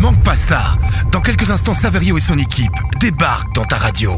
manque pas ça. Dans quelques instants, Saverio et son équipe débarquent dans ta radio.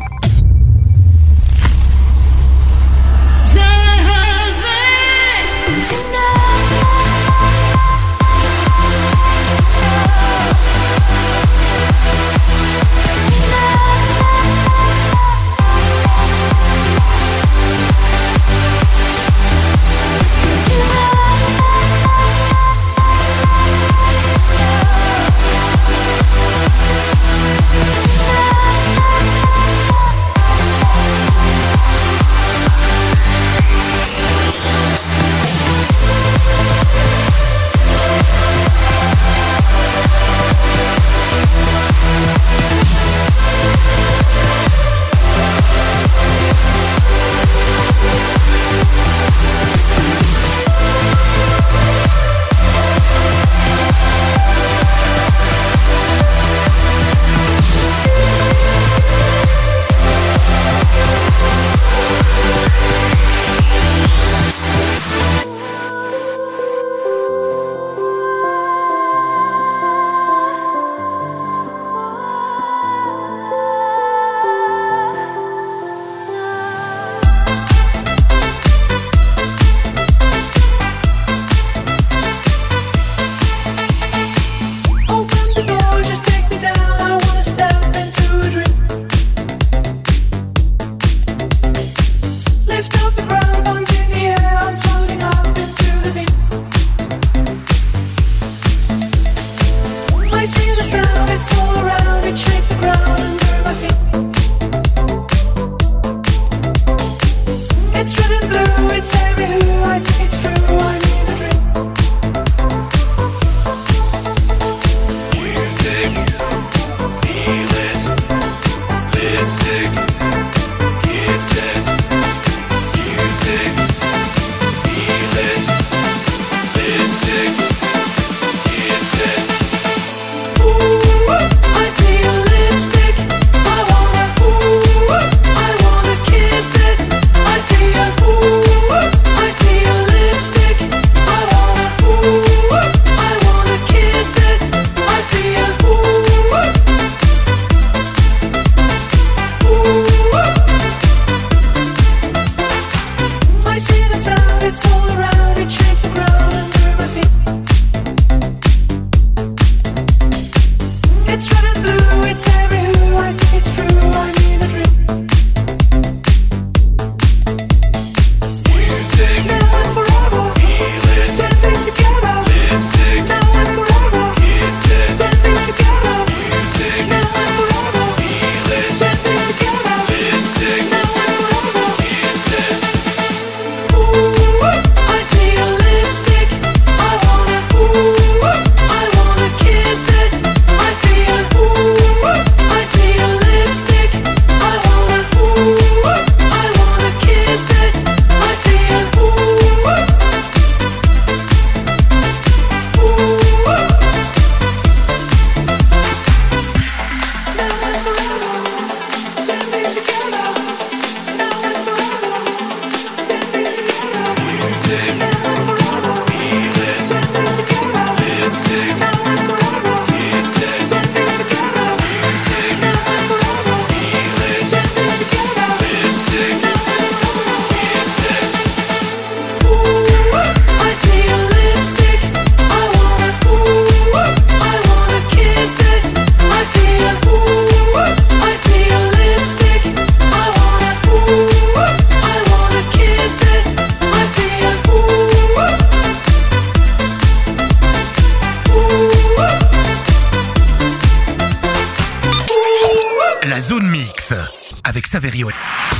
Saverio.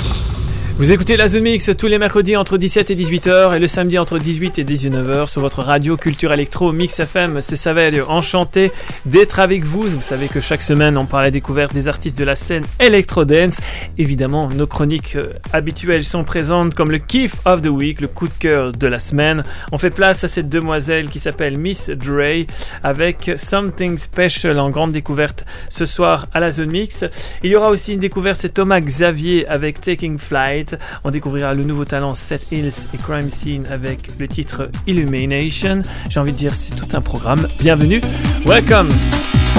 Vous écoutez la Zone Mix tous les mercredis entre 17 et 18h et le samedi entre 18 et 19h sur votre radio Culture Electro Mix FM. C'est Saverio, enchanté d'être avec vous. Vous savez que chaque semaine on parle à la découverte des artistes de la scène Electro Dance. Évidemment, nos chroniques habituelles sont présentes comme le Kiff of the Week, le coup de cœur de la semaine. On fait place à cette demoiselle qui s'appelle Miss Dre avec Something Special en grande découverte ce soir à la Zone Mix. Il y aura aussi une découverte, c'est Thomas Xavier avec Taking Flight. On découvrira le nouveau talent Seth Hills et Crime Scene avec le titre Illumination. J'ai envie de dire, c'est tout un programme. Bienvenue, welcome.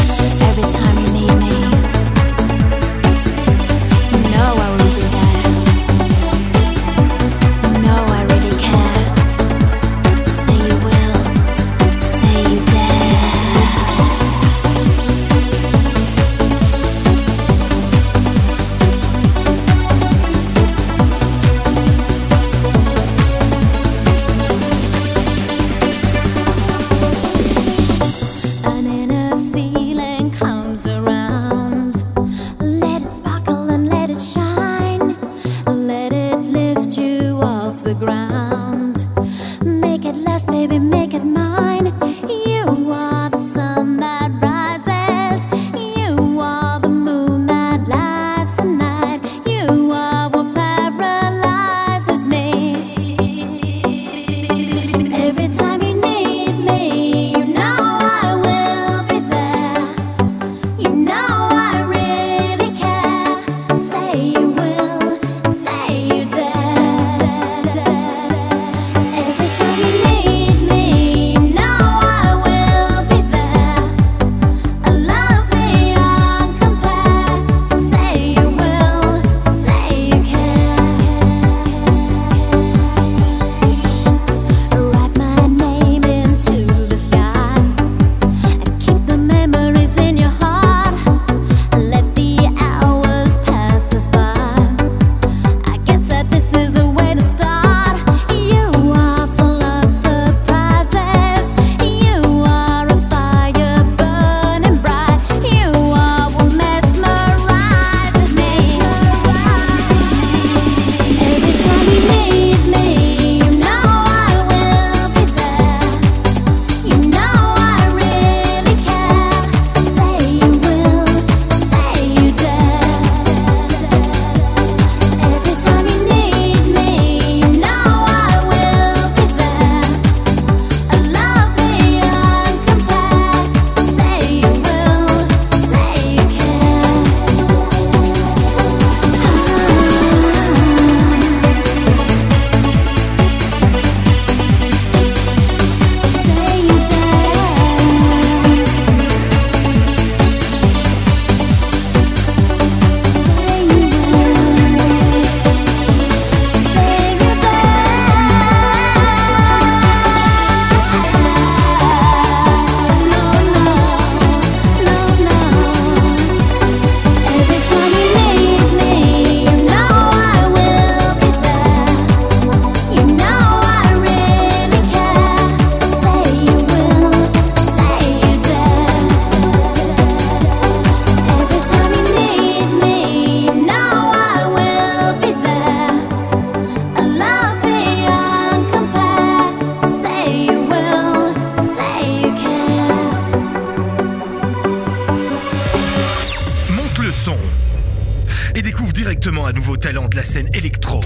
directement un nouveau talent de la scène électro.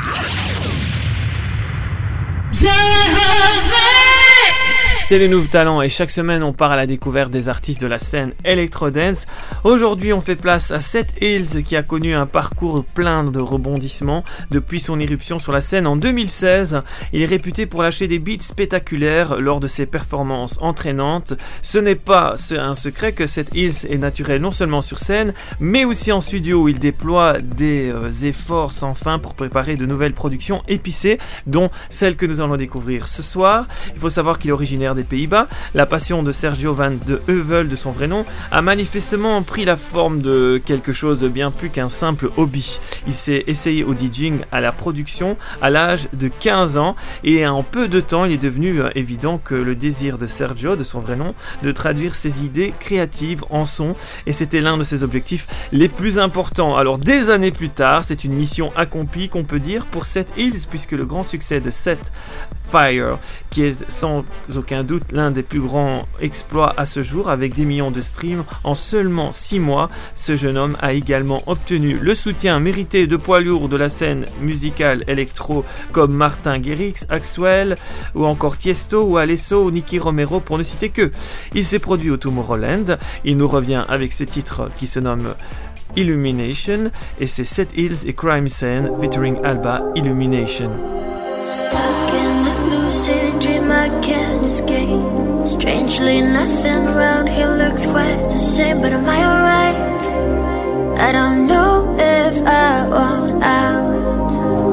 C'est les nouveaux talents et chaque semaine on part à la découverte des artistes de la scène Electro-Dance. Aujourd'hui on fait place à Seth Hills qui a connu un parcours plein de rebondissements depuis son irruption sur la scène en 2016. Il est réputé pour lâcher des beats spectaculaires lors de ses performances entraînantes. Ce n'est pas un secret que Seth Hills est naturel non seulement sur scène mais aussi en studio où il déploie des efforts sans fin pour préparer de nouvelles productions épicées dont celle que nous allons découvrir ce soir. Il faut savoir qu'il est originaire des Pays-Bas. La passion de Sergio van de Heuvel, de son vrai nom, a manifestement pris la forme de quelque chose de bien plus qu'un simple hobby. Il s'est essayé au DJing, à la production, à l'âge de 15 ans et en peu de temps, il est devenu évident que le désir de Sergio, de son vrai nom, de traduire ses idées créatives en son et c'était l'un de ses objectifs les plus importants. Alors des années plus tard, c'est une mission accomplie qu'on peut dire pour Seth Hills puisque le grand succès de Set Fire, qui est sans aucun doute l'un des plus grands exploits à ce jour avec des millions de streams en seulement 6 mois, ce jeune homme a également obtenu le soutien mérité de poids lourds de la scène musicale électro comme Martin Garrix, Axwell ou encore Tiesto ou Alesso ou Nicky Romero pour ne citer que. Il s'est produit au Tomorrowland, il nous revient avec ce titre qui se nomme Illumination et c'est Seth Hills et Crime Scene featuring Alba, Illumination. Stuck in a lucid dream, I can't escape. Strangely, nothing around here looks quite the same. same, but am I alright? I don't know if I want out.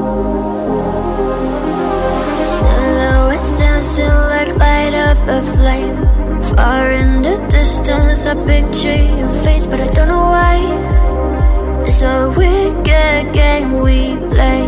Silhouettes dancing like light up a flame. Far in the distance, I picture your face, but I don't know why. It's a wicked game we play.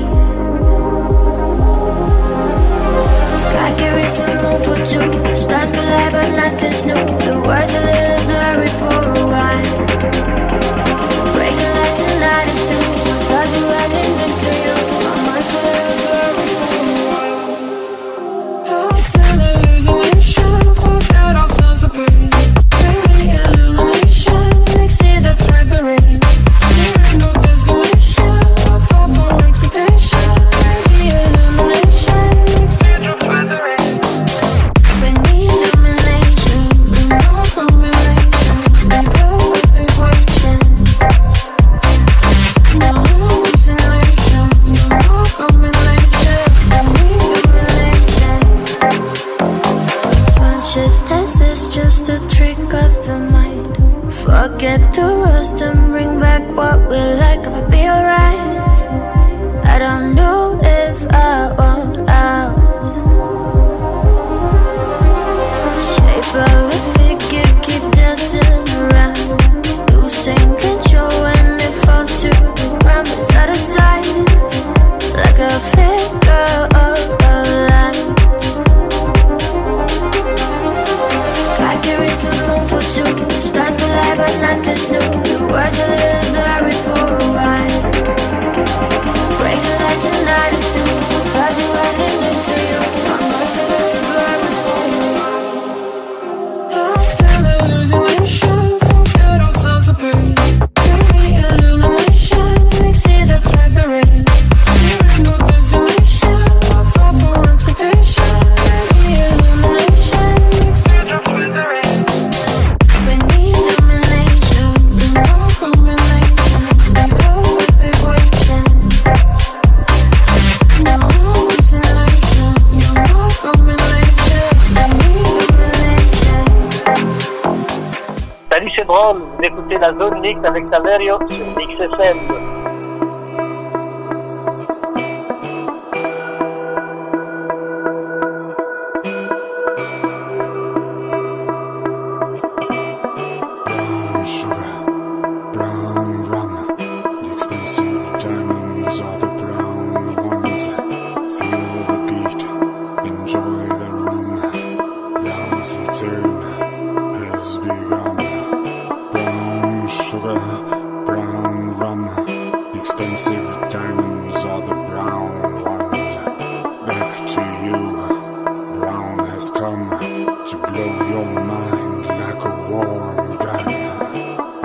Sky carries a moon for two. Stars collide, but nothing's new. The words a little blurry for a while. Breaking lights and night is too. My thoughts are running into you. My mind's a little blurry for a while. I'm still a hallucination. Forget our sense of pain. Bring me illumination. Mixed it up with the rain. There ain't no desolation. I fall for expectation. Bring me illumination. Mixed it up with the rain. Bring me illumination. Bring no combination. Bring no equation. No hallucination. No combination. Bring me illumination. Consciousness is just a trick of the mind. Forget the rest and bring back what we like. I'ma be alright. I don't know if I want out. Shape of a figure, keep dancing around. Losing control when it falls to the ground. It's out of sight, like a figure of a line. Sky carries a moon for two. Stars collide, but nothing's new. The words a little blurry for a while. Break the lights and night is too. Clouds are running into you. My mind's a little blurry for a while. I'm still a hallucination. Forget our sense of pain. Bring me illumination. Mixed it up with the rain. There ain't no desolation. I fall for expectation. Bring me illumination. Mixed it up with the rain. Bring me illumination. Bring no combination. Bring no equation. No hallucination. No combination. Bring me illumination. Salut, c'est Drôle, vous écoutez la Zone Mix avec Saverio sur Mix FM. Brown sugar, brown rum. The expensive diamonds are the brown ones. Feel the beat, enjoy the run. Brown's return has begun. Brown sugar, brown rum. The expensive diamonds are the brown ones. Back to you, brown has come to blow your mind like a warm gun.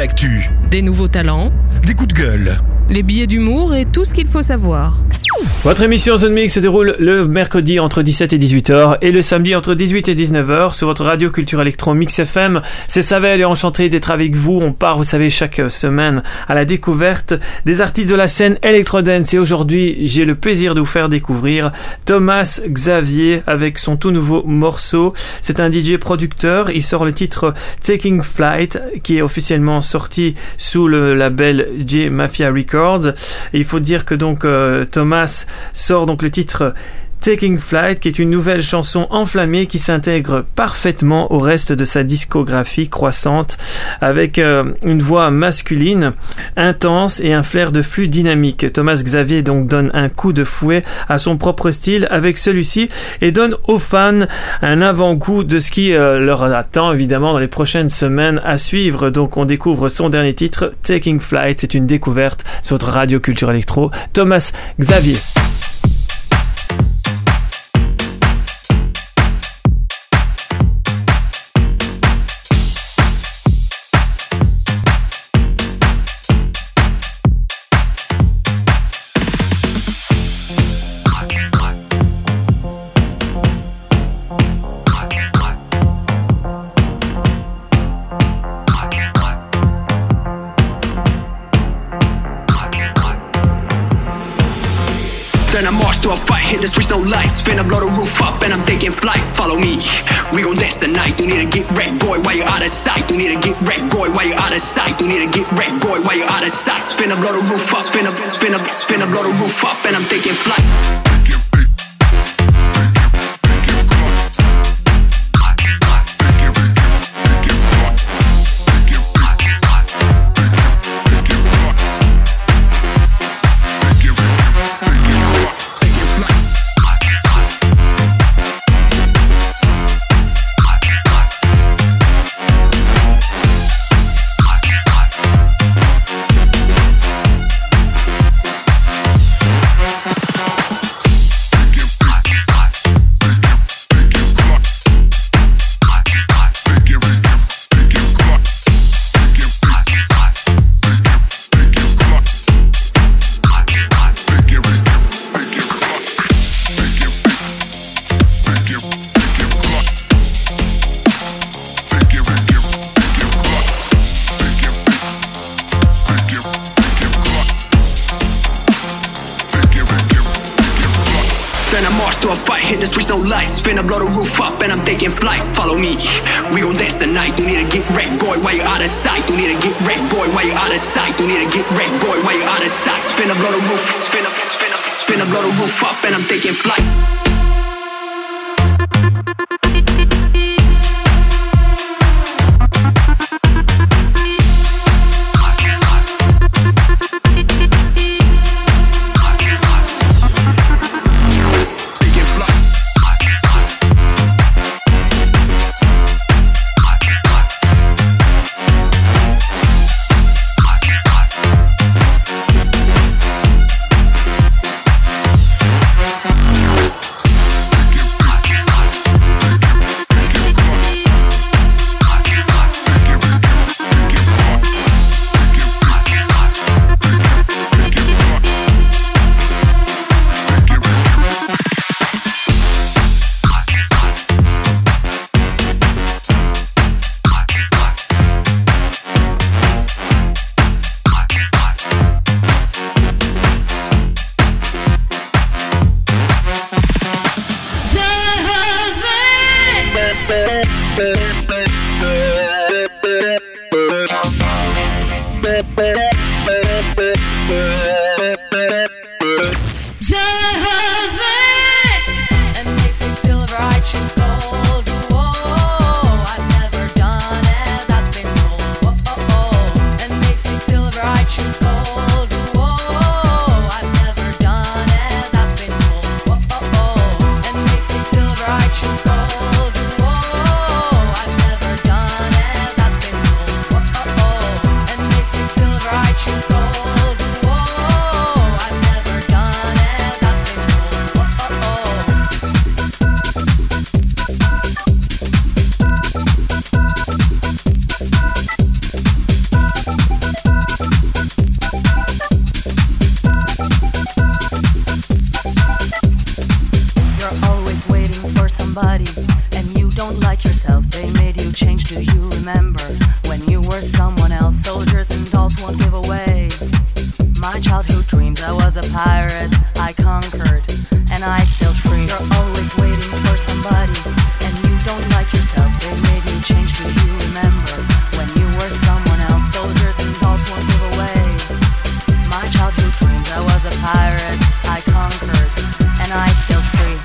actu, Des nouveaux talents, des coups de gueule. les billets d'humour et tout ce qu'il faut savoir. Votre émission Zone Mix se déroule le mercredi entre 17 et 18h et le samedi entre 18 et 19h sur votre radio Culture Électro Mix FM. C'est Savel et enchanté d'être avec vous. On part, vous savez, chaque semaine à la découverte des artistes de la scène Electrodance. Et aujourd'hui, j'ai le plaisir de vous faire découvrir Thomas Xavier avec son tout nouveau morceau. C'est un DJ producteur. Il sort le titre Taking Flight qui est officiellement sorti sous le label J Mafia Records. Et il faut dire que donc Thomas sort donc le titre Taking Flight, qui est une nouvelle chanson enflammée qui s'intègre parfaitement au reste de sa discographie croissante, avec une voix masculine intense et un flair de flux dynamique. Thomas Xavier donc donne un coup de fouet à son propre style avec celui-ci et donne aux fans un avant-goût de ce qui leur attend évidemment dans les prochaines semaines à suivre. Donc on découvre son dernier titre, Taking Flight. C'est une découverte sur votre radio Culture Électro. Thomas Xavier. Then I march to a fight, hit the switch, no lights. Finna blow the roof up and I'm taking flight. Follow me, we gon' dance tonight. You need to get wrecked, boy, while you're out of sight. You need to get wrecked, boy, while you're out of sight. You need to get wrecked, boy, while you're out of sight. Finna blow the roof up, finna blow the roof up and I'm taking flight. Finna blow the roof up and I'm taking flight. Follow me, we gon' dance tonight. You need to get wrecked, boy, while you're out of sight. You need to get wrecked, boy, while you're out of sight. You need to get wrecked, boy, while you're out of sight. Finna blow the roof, finna blow the roof up and I'm taking flight. was a pirate, I conquered, and I sailed free. You're always waiting for somebody, and you don't like yourself. They made you change. Do you remember when you were someone else? Soldiers and dolls won't give away my childhood dreams. I was a pirate, I conquered, and I sailed free.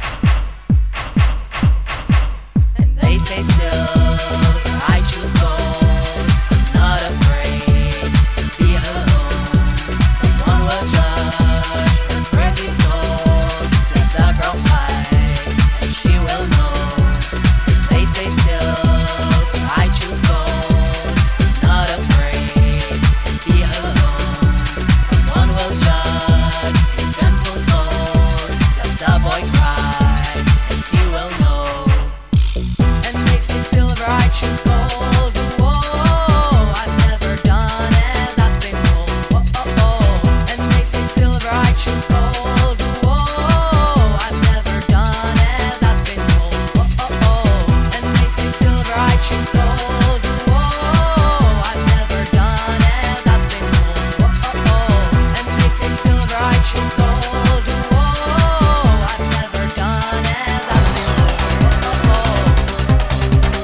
And they say silver, I choose gold. Not afraid to be alone. Someone will judge the crazy soul. Let the girl fight, and she will know. They say silver, I choose gold. Not afraid to be alone. Someone will judge his gentle soul. Let the boy cry, and he will know. And they say silver, I choose gold. Whoa, I've never done as I've been told. Whoa, and they say silver, I choose gold. Whoa, I've never done as I've been told. Whoa, and they say silver, I choose gold. Whoa, I've never done as I've been told. Whoa, and they say silver, I choose gold. Whoa, I've never done as I've been told.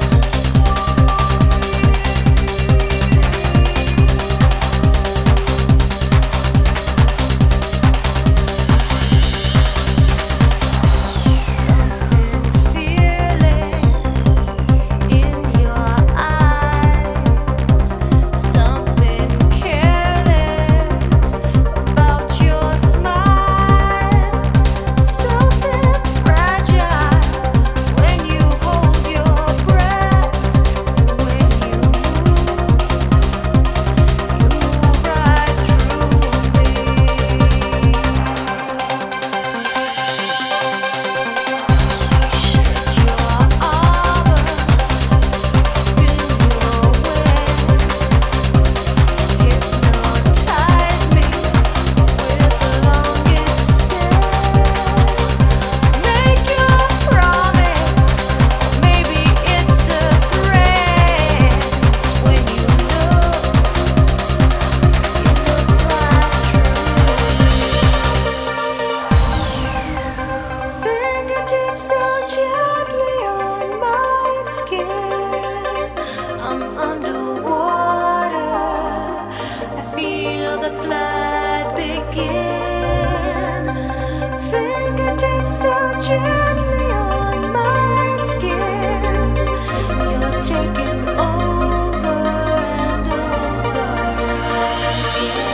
Fearless in your eyes, something careless about your smile, something fragile when you hold your breath, and when you move right through me. Shed your armor, spin your web, hypnotize me with the longest step. Make your promise, maybe it's a threat. When you look right through. Fingertips so gently on my skin. I'm underwater. I feel the flood begin. Fingertips so gently on my skin. You're taking over and over again.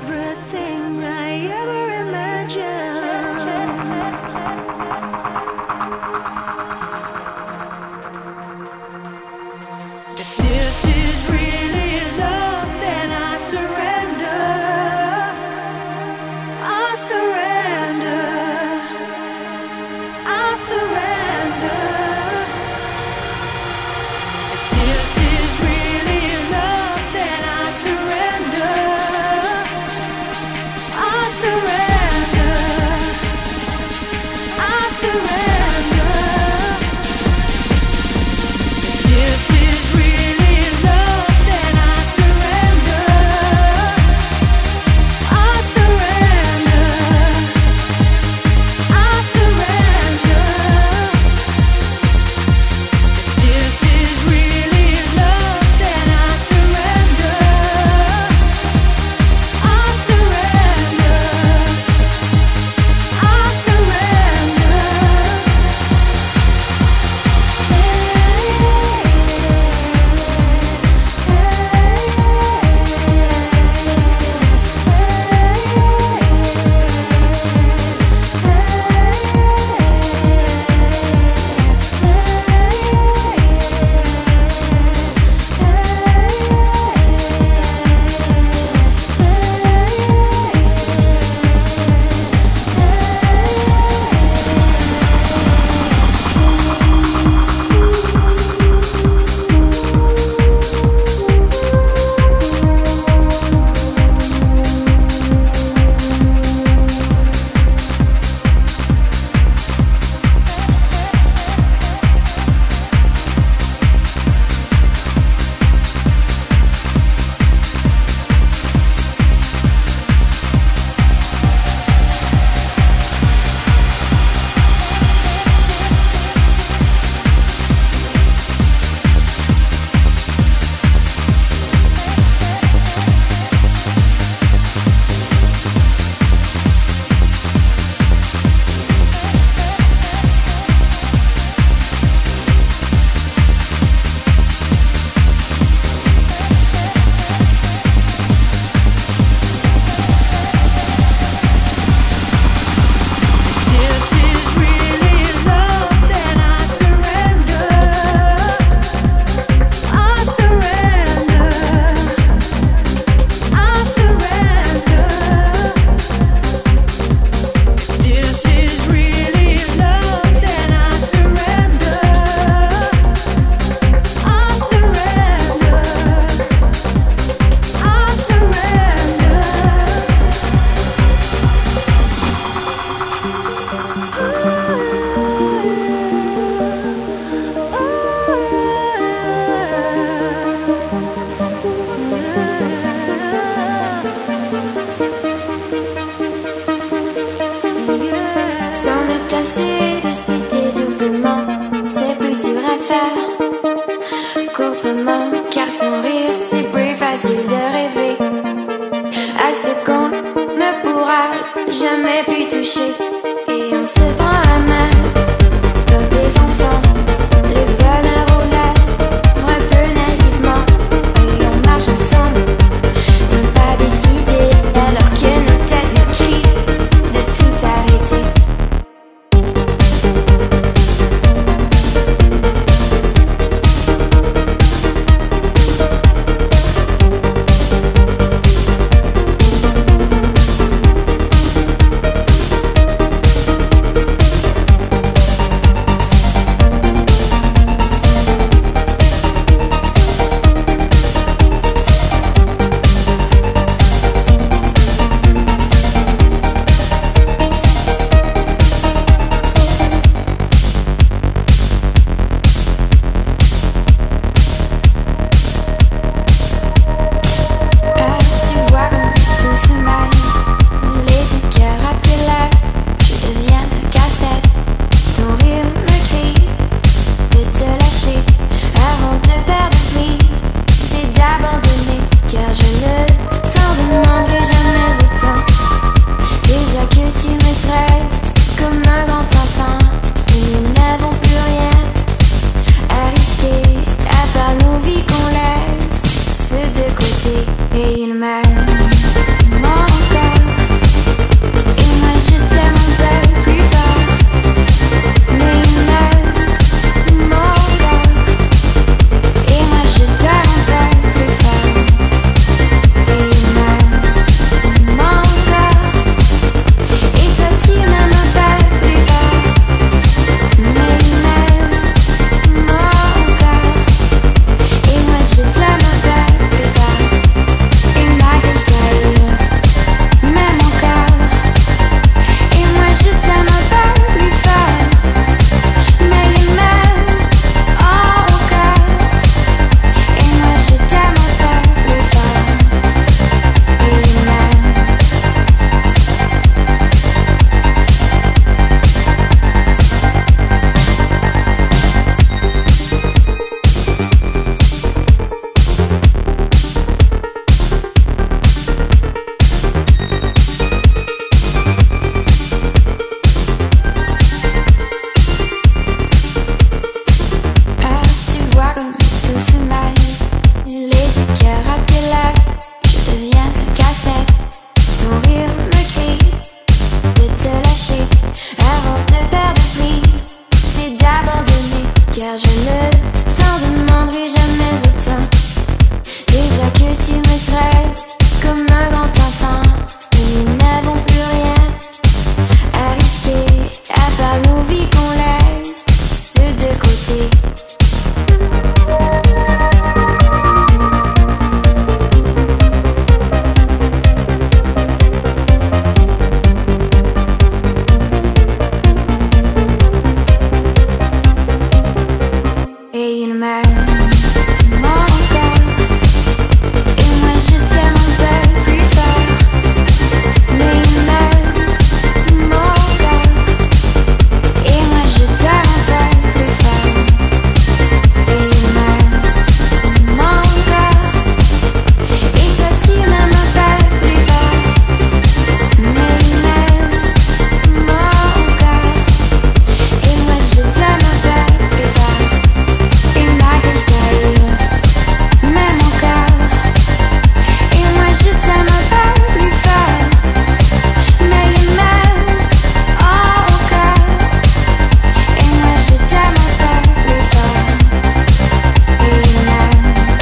everything I ever imagined. If this is really love, then I surrender. I surrender. I surrender. If this is really love, then I surrender. I surrender. I surrender. If this is really love, then I surrender. I surrender. I surrender. If this is really love, then I surrender. I surrender. I surrender. This is really love, then I surrender. I surrender. I surrender. This is really love, then I surrender. I surrender. I surrender. S'en est assez de citer doublement, c'est plus dur à faire qu'autrement, car sans rire c'est plus facile de rêver à ce qu'on ne pourra jamais plus toucher. Et on se prend la main comme des enfants, le bonheur au lèvres un peu naïvement, et on marche ensemble d'un pas décidé, alors que nos têtes nous crient de tout arrêter. cassette. Ton rire me crie de te lâcher avant de perdre prise. C'est d'abandonner, car je ne t'en demanderai jamais autant. Déjà que tu me traites comme un grand enfant, et nous n'avons plus rien à risquer, à part nos vies qu'on laisse de côté. Et il m'a manqué, et moi je t'aime un peu plus fort. Mais il m'a manqué, et moi je t'aime un peu plus fort. Et il m'a manqué, et toi tu m'aimes un peu plus fort. Mais il m'a manqué, et moi je t'aime un peu plus fort. Il m'a fait saillir, même encore. Et moi je t'aime un peu plus fort. Mais il m'aime encore. Et moi je t'aime un peu plus fort. Et il m'aime.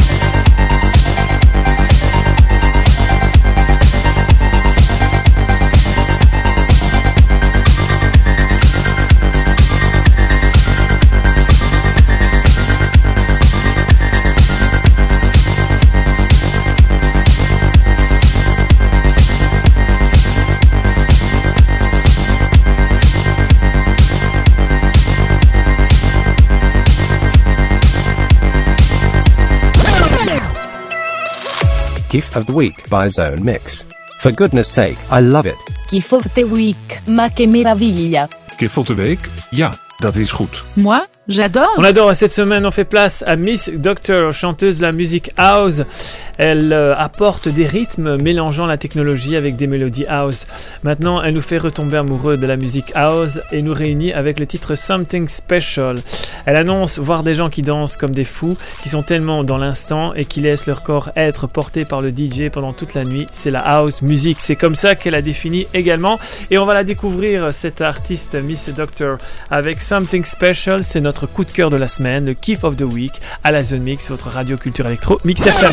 Gift of the Week by Zone Mix. For goodness sake, I love it. Gift of the Week, ma che meraviglia. Gift of the Week? Ja, dat is goed. Moi, j'adore. On adore. Cette semaine, on fait place à Miss Doctor, chanteuse de la musique house. Elle apporte des rythmes mélangeant la technologie avec des mélodies house. Maintenant, elle nous fait retomber amoureux de la musique house et nous réunit avec le titre Something Special. Elle annonce voir des gens qui dansent comme des fous, qui sont tellement dans l'instant et qui laissent leur corps être porté par le DJ pendant toute la nuit. C'est la house music. C'est comme ça qu'elle a défini également. Et on va la découvrir, cette artiste Miss Doctor, avec Something Special. C'est notre coup de cœur de la semaine, le Kiff of the Week à la Zone Mix, votre radio culture électro Mix FM.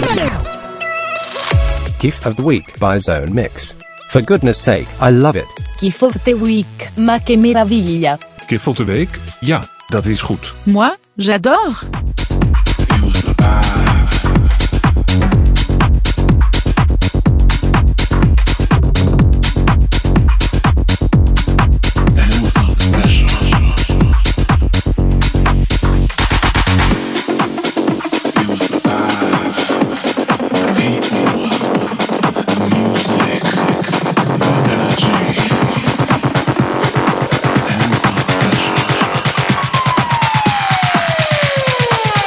Gift of the Week by Zone Mix. For goodness sake, I love it. Gift of the Week, ma che meraviglia. Gift of the Week? Ja, dat is goed. Moi, j'adore. Special.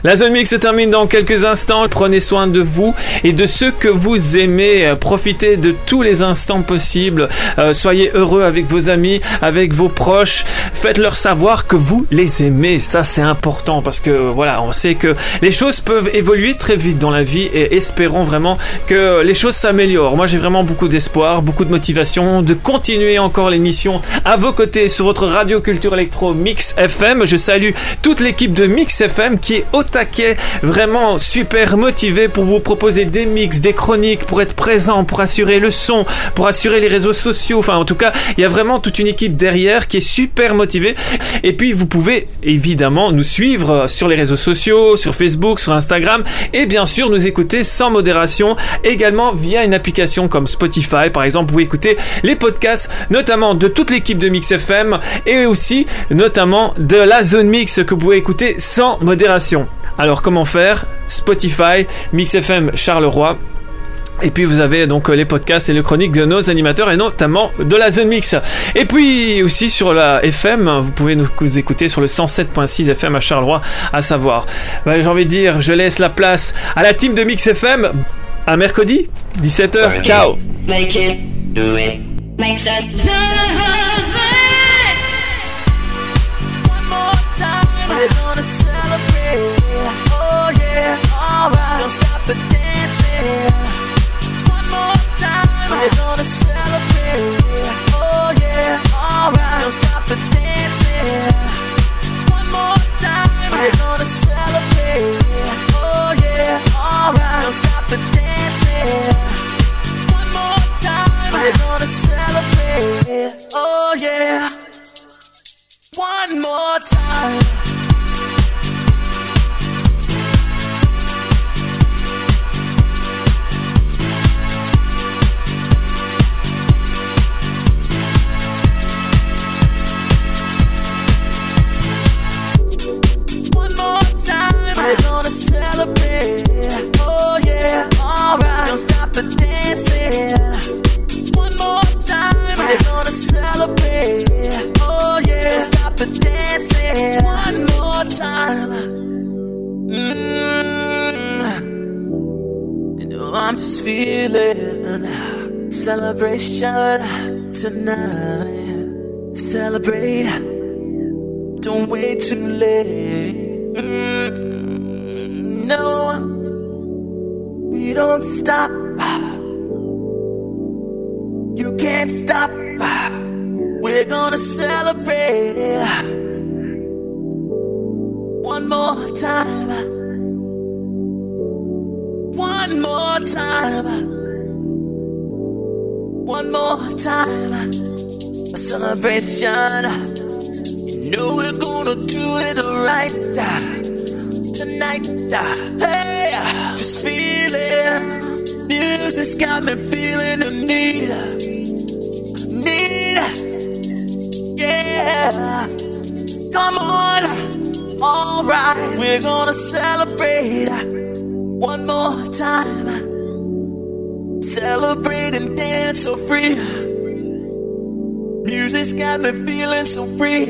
La Zone Mix se termine dans quelques instants. Prenez soin de vous et de ceux que vous aimez. Profitez de tous les instants possibles. Soyez heureux avec vos amis, avec vos proches. Faites-leur savoir que vous les aimez. Ça, c'est important parce que voilà, on sait que les choses peuvent évoluer très vite dans la vie et espérons vraiment que les choses s'améliorent. Moi, j'ai vraiment beaucoup d'espoir, beaucoup de motivation de continuer encore l'émission à vos côtés sur votre radio culture électro Mix FM. Je salue toute l'équipe de Mix FM qui est au taquet, vraiment super motivée pour vous proposer des mix, des chroniques, pour être présent, pour assurer le son, pour assurer les réseaux sociaux. Enfin, en tout cas, il y a vraiment toute une équipe derrière qui est super motivée. Et puis, vous pouvez évidemment nous suivre sur les réseaux sociaux, sur Facebook, sur Instagram, et bien sûr nous écouter sans modération, également via une application comme Spotify. Par exemple, vous pouvez écouter les podcasts, notamment de toute l'équipe de Mix FM, et aussi notamment de la Zone Mix que vous pouvez écouter sans modération. Alors, comment faire? Spotify, Mix FM Charleroi. Et puis vous avez donc les podcasts et les chroniques de nos animateurs et notamment de la Zone Mix. Et puis aussi sur la FM, vous pouvez nous écouter sur le 107.6 FM à Charleroi, à savoir. J'ai envie de dire, je laisse la place à la team de Mix FM. À mercredi, 17h. Ciao. Make it, do it, makes us We're gonna celebrate, oh yeah, alright. Don't stop the dancing. One more time, we're gonna celebrate, oh yeah, alright. Don't stop the dancing. One more time, we're gonna celebrate, oh yeah, alright. Don't stop the dancing. One more time, we're gonna celebrate, oh yeah. One more time. We're gonna celebrate, oh yeah, alright. Don't stop the dancing. One more time, we're gonna celebrate, oh yeah. Don't stop the dancing. One more time. You know I'm just feeling celebration tonight. Celebrate, don't wait too late. No, we don't stop. You can't stop. We're gonna celebrate. One more time. One more time. One more time. A celebration. You know we're gonna do it right tonight. Hey, just feeling. Music's got me feeling the need. Yeah. Come on. Alright, we're gonna celebrate one more time. Celebrate and dance so free. Music's got me feeling so free.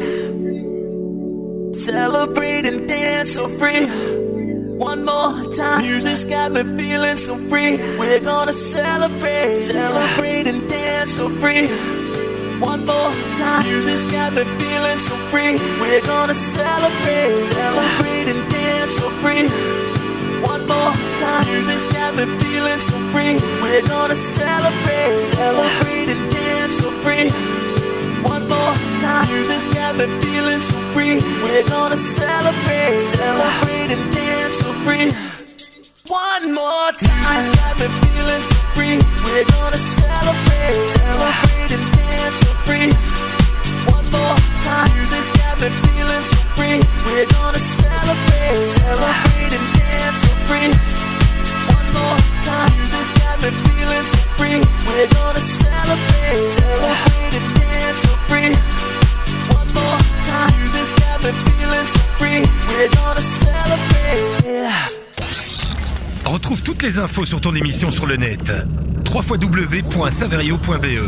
Celebrate and dance so free. One more time. Music's got me feeling so free. We're gonna celebrate. Celebrate and dance so free. One more time. Music's got me feeling so free. We're gonna celebrate. Celebrate and dance so free. One more time. Music's got me feeling so free. We're gonna celebrate. Celebrate and dance so free. One more time. Music's got me feeling so free. We're gonna celebrate. Celebrate and dance so free. One more time. Music's got me feeling so free. We're gonna celebrate. Celebrate and dance so free. One more time. Music's got me feeling so free. We're gonna celebrate. Celebrate and dance so free. One more time. Music's got me feeling so free. We're gonna celebrate. Celebrate and dance so free. One more time. Music's got me feeling so free. We're gonna celebrate. Retrouve toutes les infos sur ton émission sur le net. www.saverio.be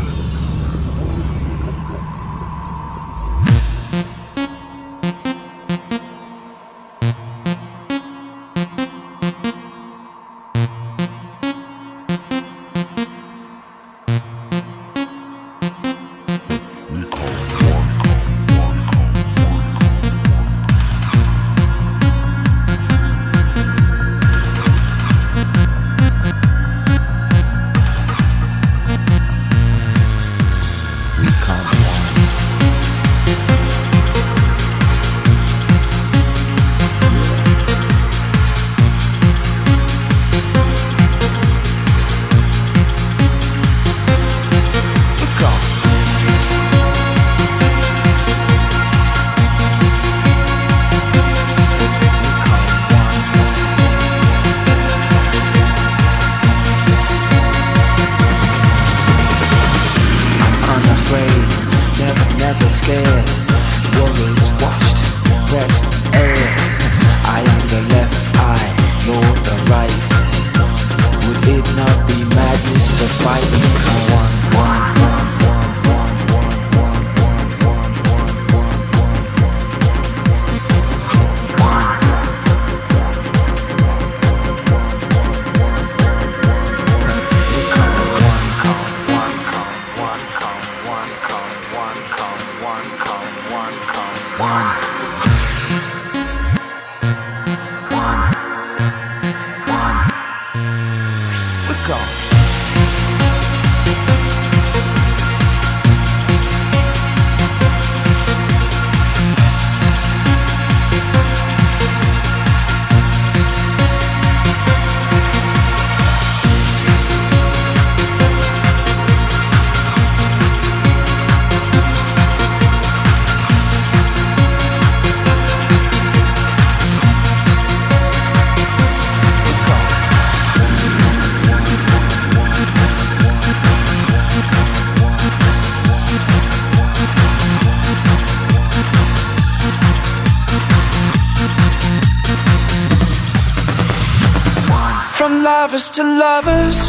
From lovers to lovers,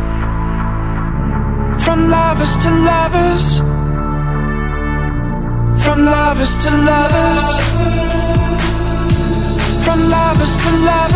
from lovers to lovers, from lovers to lovers, from lovers to lovers.